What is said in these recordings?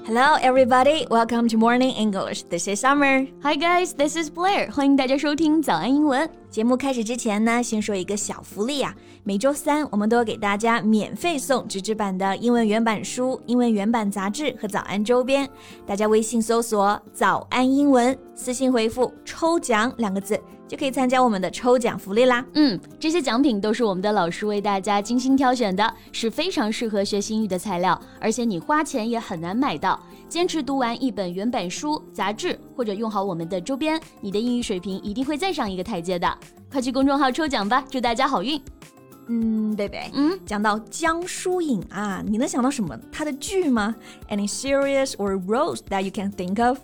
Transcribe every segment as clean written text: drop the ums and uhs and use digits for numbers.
Hello, everybody. Welcome to Morning English. This is Summer. Hi, guys. This is Blair. 欢迎大家收听早安英文。 节目开始之前呢，先说一个小福利啊。每周三我们都有给大家免费送纸质版的英文原版书、英文原版杂志和早安周边。大家微信搜索“早安英文”，私信回复“抽奖”2个字。就可以参加我们的抽奖福利啦。 这些奖品都是我们的老师为大家精心挑选的，是非常适合学习英语的材料，而且你花钱也很难买到。坚持读完一本原版书、杂志，或者用好我们的周边，你的英语水平一定会再上一个台阶的。快去公众号抽奖吧，祝大家好运。 贝贝，讲到江疏影啊，你能想到什么她的剧吗？ Any series or roles that you can think of?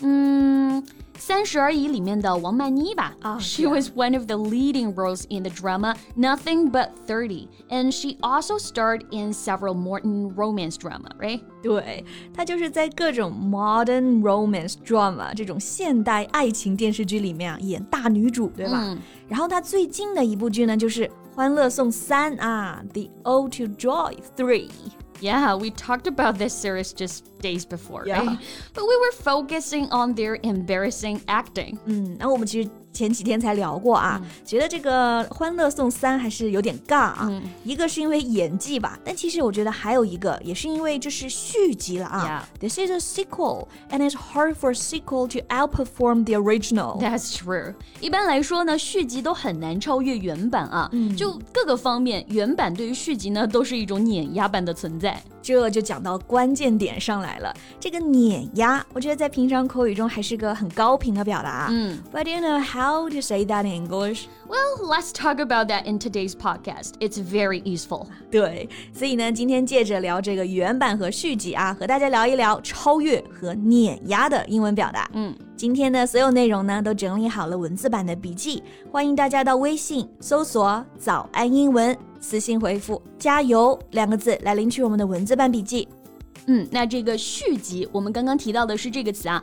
30而已里面的王曼妮吧。She was one of the leading roles in the drama Nothing But 30, and she also starred in several modern romance drama, right? 对，她就是在各种 modern romance drama 这种现代爱情电视剧里面啊演大女主，对吧？然后她最近的一部剧呢就是《欢乐颂3》啊， The Ode to Joy 3。Yeah, we talked about this series just days before, yeah. Right? But we were focusing on their embarrassing acting. 那我们其实前几天才聊过啊，觉得这个《欢乐颂3》还是有点尬啊。一个是因为演技吧，但其实我觉得还有一个也是因为这是续集了啊。 Yeah. This is a sequel, and it's hard for a sequel to outperform the original. That's true. 一般来说呢，续集都很难超越原版啊。就各个方面，原版对于续集呢都是一种碾压般的存在。 这就讲到关键点上来了，这个碾压，我觉得在平常口语中还是个很高频的表达。But do you know how to say that in English? Well, let's talk about that in today's podcast. It's very useful. 对，所以呢，今天借着聊这个原版和续集啊，和大家聊一聊超越和碾压的英文表达。今天的所有内容呢，都整理好了文字版的笔记，欢迎大家到微信搜索“早安英文”，私信回复“加油”2个字来领取我们的文字版笔记。 那这个续集，我们刚刚提到的是这个词啊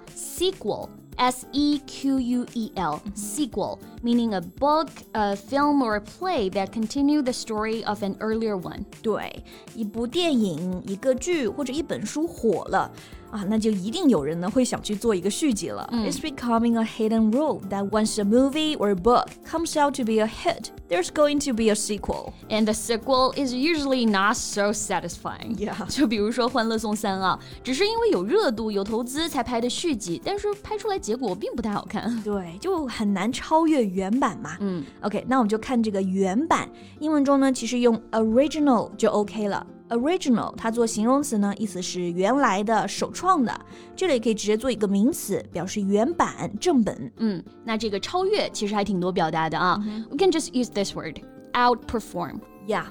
，sequel。S-E-Q-U-E-L, sequel, meaning a book, a film, or a play that continue the story of an earlier one. 对，一部电影、一个剧或者一本书火了啊，那就一定有人呢会想去做一个续集了。It's becoming a hidden rule that once a movie or a book comes out to be a hit, there's going to be a sequel. And the sequel is usually not so satisfying. Yeah. 就比如说《欢乐颂3》啊，只是因为有热度、有投资才拍的续集，但是拍出来结果并不太好看。 对，就很难超越原版嘛。OK， 那我们就看这个原版。英文中呢，其实用 original 就 OK 了。Original 它做形容词呢，意思是原来的、首创的。这里可以直接做一个名词，表示原版、正本。 那这个超越其实还挺多表达的啊。We can just use this word, outperform. Yeah,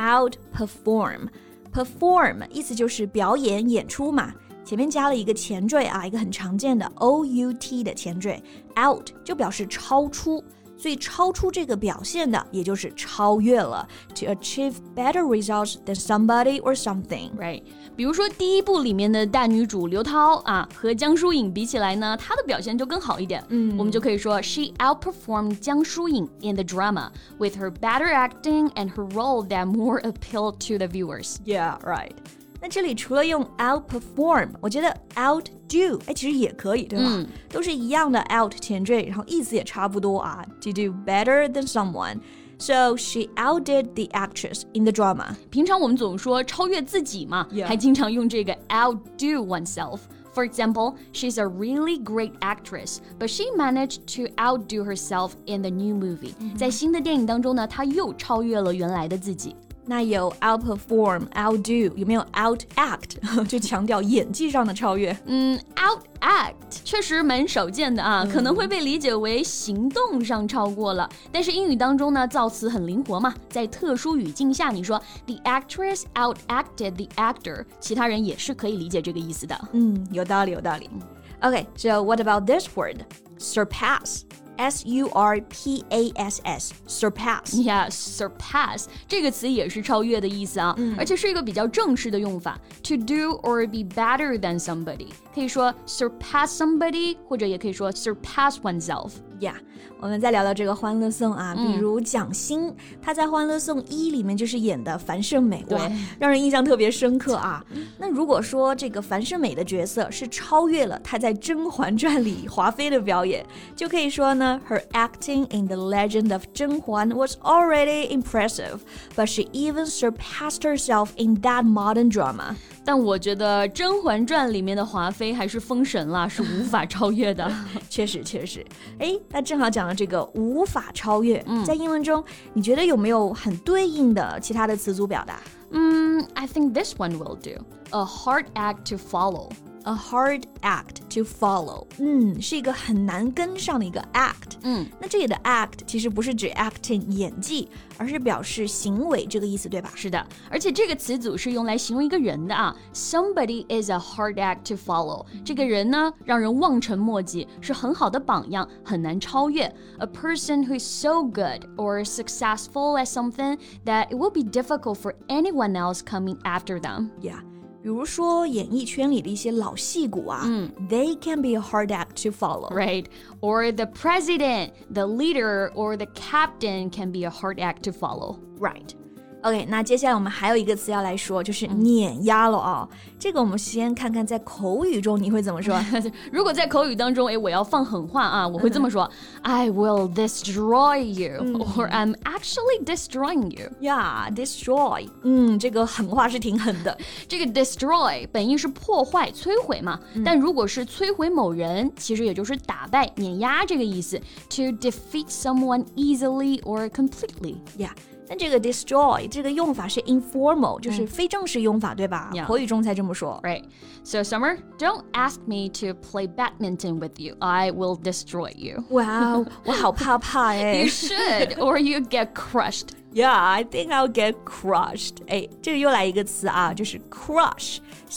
outperform. Perform 意思就是表演、演出嘛。前面加了一个前缀啊，一个很常见的 out 的前缀 out 就表示超出，所以超出这个表现的也就是超越了 to achieve better results than somebody or something. Right. 比如说第一部里面的大女主刘涛啊，和江疏影比起来呢，她的表现就更好一点。我们就可以说 She outperformed 江疏影 in the drama with her better acting and her role that more appealed to the viewers. Yeah, right. 那这里除了用 outperform， 我觉得 outdo 其实也可以，对吧？都是一样的 out 前缀，然后意思也差不多啊。To do better than someone. So she outdid the actress in the drama. 平常我们总说超越自己嘛，还经常用这个 outdo oneself. For example, she's a really great actress, but she managed to outdo herself in the new movie. 在新的电影当中呢，她又超越了原来的自己。 那有 outperform, outdo， 有没有 outact 就强调演技上的超越 ？Outact 确实蛮少见的啊，可能会被理解为行动上超过了。但是英语当中呢，造词很灵活嘛，在特殊语境下，你说 the actress outacted the actor， 其他人也是可以理解这个意思的。 有道理，有道理。Okay, so what about this word? Surpass.S-U-R-P-A-S-S, surpass. Yeah, surpass 这个词也是超越的意思啊，而且是一个比较正式的用法。To do or be better than somebody， 可以说 surpass somebody， 或者也可以说 surpass oneself。 Yeah， 我们再聊聊这个欢乐颂啊，比如蒋欣，她在《欢乐颂1》里面就是演的樊胜美，哇，让人印象特别深刻啊。那如果说这个樊胜美的角色是超越了她在《甄嬛传》里华妃的表演，就可以说呢 ，Her acting in The Legend of 甄嬛 was already impressive, but she even surpassed herself in that modern drama. 但我觉得《甄嬛传》里面的华妃还是封神了，是无法超越的。 确实。哎，那正好讲了这个无法超越，在英文中，你觉得有没有很对应的其他的词组表达 ？I think this one will do. A hard act to follow. A hard act to follow. 是一个很难跟上的一个 act. 那这里的 act 其实不是指 acting 演技，而是表示行为这个意思，对吧？ 是的，而且这个词组是用来形容一个人的啊。Somebody is a hard act to follow. 这个人呢，让人望尘莫及，是很好的榜样，很难超越。A person who is so good or successful at something that it will be difficult for anyone else coming after them. Yeah.比如说演艺圈里的一些老戏骨啊，they can be a hard act to follow. Right. Or the president, the leader, or the captain can be a hard act to follow. Right. OK， 那接下来我们还有一个词要来说，就是碾压了啊。这个我们先看看在口语中你会怎么说。 如果在口语当中，我要放狠话啊，我会这么说：I will destroy you, or I'm actually destroying you. Yeah, destroy. 这个狠话是挺狠的。 这个 destroy 本意是破坏、摧毁嘛，但如果是摧毁某人，其实也就是打败、碾压这个意思。To defeat someone easily or completely. Yeah.但这个 destroy 这个用法是 informal， 就是非正式用法，对吧？口语中才这么说。 Right. So Summer, don't ask me to play badminton with you. I will destroy you. Wow, 我好怕哎。 You should, or you get crushed. Yeah, I think I'll get crushed. 哎，这个又来一个词啊，就是 crush,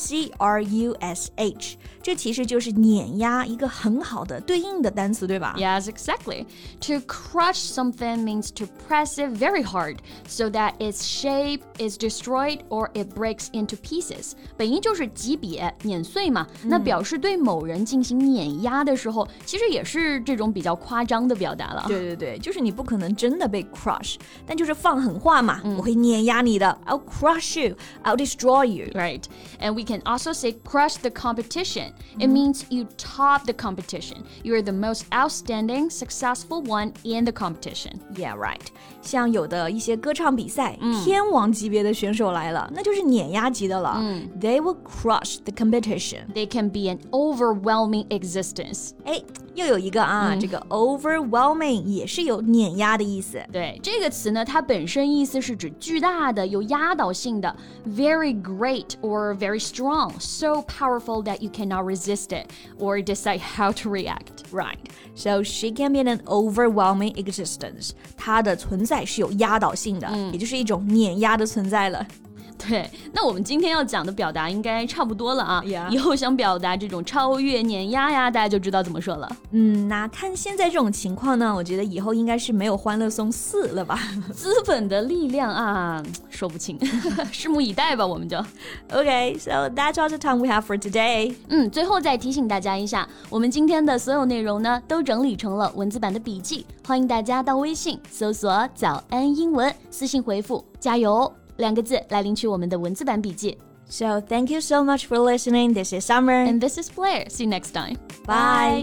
C-R-U-S-H. 这其实就是碾压，一个很好的对应的单词，对吧？ Yes, exactly. To crush something means to press it very hard so that its shape is destroyed or it breaks into pieces. 本意就是击瘪、碾碎嘛。那表示对某人进行碾压的时候，其实也是这种比较夸张的表达了。 对，就是你不可能真的被 crush， 但就是放狠话嘛，我会碾压你的。I'll crush you. I'll destroy you. Right. And we can also say crush the competition. It means you top the competition. You're the most outstanding, successful one in the competition. Yeah, right. 像有的一些歌唱比赛，天王级别的选手来了，那就是碾压级的了。They will crush the competition. They can be an overwhelming existence. 哎，又有一个啊，这个 overwhelming 也是有碾压的意思。 对，这个词呢，它本身意思是指巨大的、有压倒性的 ，very great or very strong, so powerful that you cannot resist it or decide how to react. Right. So she can be an overwhelming existence. 她的存在是有压倒性的，也就是一种碾压的存在了。 对，那我们今天要讲的表达应该差不多了啊。以后想表达这种超越、碾压呀，大家就知道怎么说了。 那看现在这种情况呢，我觉得以后应该是没有欢乐颂4了吧？ 资本的力量啊，说不清，拭目以待吧，我们就。 Okay, so that's all the time we have for today. 最后再提醒大家一下，我们今天的所有内容呢，都整理成了文字版的笔记，欢迎大家到微信搜索“早安英文”，私信回复“加油”2个字来领取我们的文字版笔记。 So thank you so much for listening. This is Summer. And this is Blair. See you next time. Bye.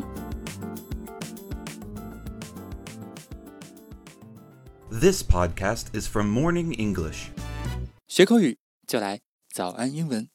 This podcast is from Morning English. 学口语就来早安英文。